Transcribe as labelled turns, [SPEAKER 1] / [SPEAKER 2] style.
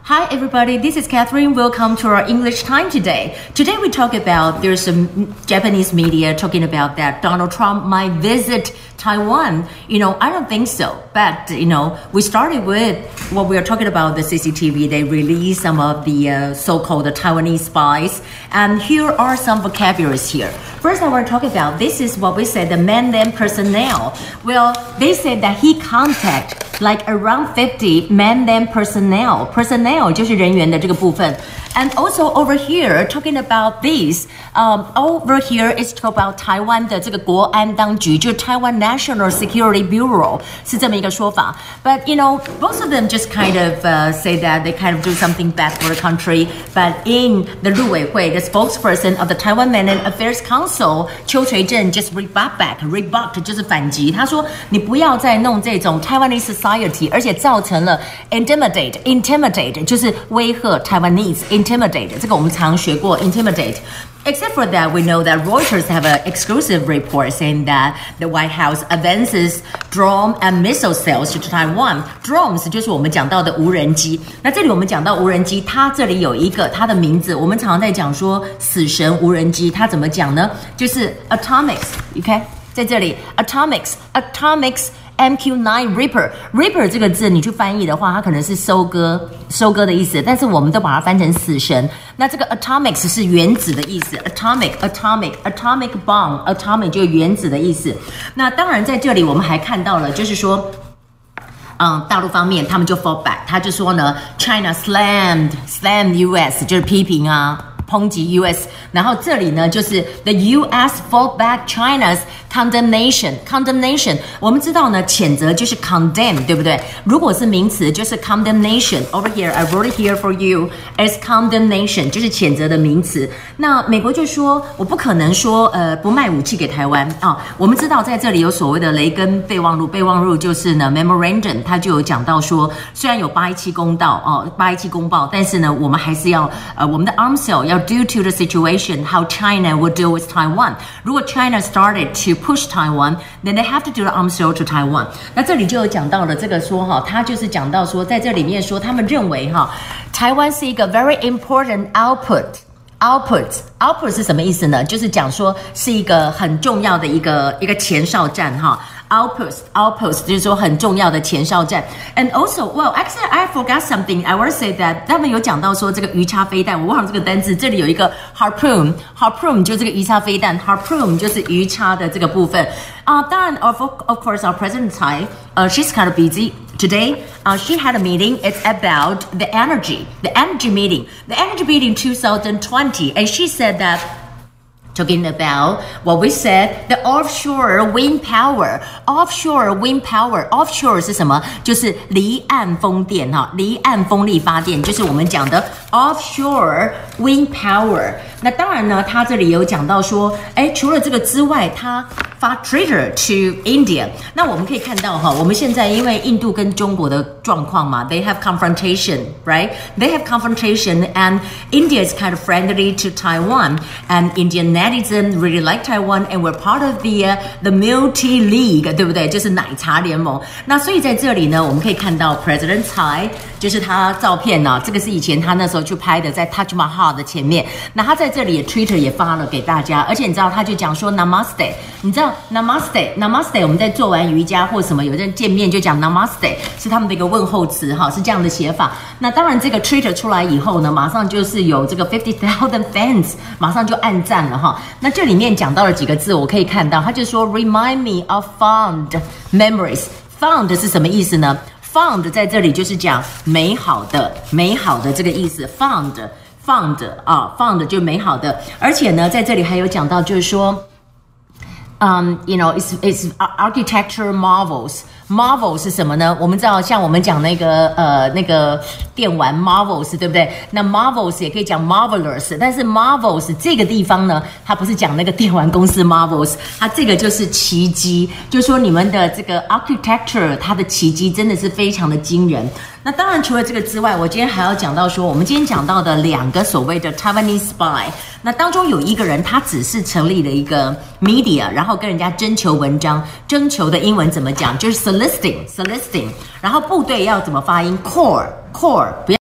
[SPEAKER 1] Hi everybody, this is Catherine. Welcome to our English time today. Today we talk about, there's some Japanese media talking about that Donald Trump might visit Taiwan. I don't think so. But, we started with what we are talking about, the CCTV. They released some of the so-called Taiwanese spies. And here are some vocabularies here. First, I want to talk about, this is what we said, the man-them personnel. Well, they said that he contacted like around 50 man-them personnel. Personnel 就是人员的这个部分。And also over here, talking about this, over here is talk about Taiwan 的这个国安当局，就是 Taiwan National Security Bureau 是这么一个说法。But both of them just kind of say that they kind of do something bad for the country. But in the 陆委会, the spokesperson of the Taiwan Mainland Affairs Council, 邱垂正 just rebut 就是反击。他说你不要再弄这种 Taiwanese society， 而且造成了 intimidate 就是威吓 Taiwanese。Intimidate 这个我们常学过 intimidate. Except for that, we know that Reuters have an exclusive report saying that the White House advances drone and missile sales to Taiwan. Drones 就是我们讲到的无人机。那这里我们讲到无人机，它这里有一个它的名字，我们常常在讲说死神无人机，它怎么讲呢？就是 atomics，OK， 在这里 atomics。MQ9 Reaper 这个字你去翻译的话，它可能是收割的意思，但是我们都把它翻成死神。那这个 atomics 是原子的意思 ，atomic bomb atomic 就是原子的意思。那当然在这里我们还看到了，就是说。大陆方面他们就 fall back， 他就说呢 ，China slammed US 就是批评啊。抨击 US， 然后这里呢就是 the US fought back China's condemnation。我们知道呢，谴责就是 condemn， 对不对？如果是名词就是 condemnation。Over here, I wrote it here for you as condemnation， 就是谴责的名词。那美国就说，我不可能说不卖武器给台湾啊。我们知道在这里有所谓的雷根备忘录，备忘录就是呢 memorandum， 它就有讲到说，虽然有817公报，但是呢，我们还是要我们的 arms sale 要due to the situation, how China would deal with Taiwan. 如果 China started to push Taiwan, then they have to do the arms sale to Taiwan. 那这里就有讲到了这个说哈，他就是讲到说，在这里面说，他们认为哈，台湾是一个 very important output 是什么意思呢？就是讲说是一个很重要的一个前哨站哈。Outpost 就是说很重要的前哨站 ，and also, well, actually, I forgot something. I want to say that 他们有讲到说这个鱼叉飞弹，我忘了这个单字。这里有一个 harpoon 就这个鱼叉飞弹 ，harpoon 就是鱼叉的这个部分。当然 of course, our President Tsai, she's kind of busy today. She had a meeting. It's about the energy meeting 2020, and she said that. Talking about what we said, the offshore wind power. Offshore 是什么？就是离岸风电哈，离岸风力发电，就是我们讲的 offshore wind power。那当然呢，他这里有讲到说，除了这个之外，他发 traitor to India。那我们可以看到哈，我们现在因为印度跟中国的状况嘛 ，they have confrontation, right? They have confrontation, and India is kind of friendly to Taiwan, and Indian netizens really like Taiwan, and we're part of the Multi League， 对不对？就是奶茶联盟。那所以在这里呢，我们可以看到 President Tsai， 就是他照片呢，这个是以前他那时候去拍的，在 Taj Mahal 的前面。那他在这里 Twitter 也发了给大家，而且你知道他就讲说 Namaste， 你知道 Namaste， 我们在做完瑜伽或什么有人见面就讲 Namaste， 是他们的一个问候词哈，是这样的写法。那当然这个 Twitter 出来以后呢，马上就是有这个 50,000 fans， 马上就按赞了哈。那这里面讲到了几个字，我可以看到，他就说 Remind me of fond memories。Fond 是什么意思呢？Fond 在这里就是讲美好的这个意思 ，fond 就美好的，而且呢，在这里还有讲到就是说，it's architecture marvels。Marvel 是什么呢？我们知道，像我们讲那个电玩 Marvels， 对不对？那 Marvels 也可以讲 Marvelous， 但是 Marvels 这个地方呢，它不是讲那个电玩公司 Marvels， 它这个就是奇迹，就是说你们的这个 architecture， 它的奇迹真的是非常的惊人。那当然，除了这个之外，我今天还要讲到说，我们今天讲到的2个所谓的 Taiwanese spy， 那当中有一个人他只是成立了一个 media， 然后跟人家征求文章，征求的英文怎么讲？就是 soliciting， 然后部队要怎么发音 ？core， 不要。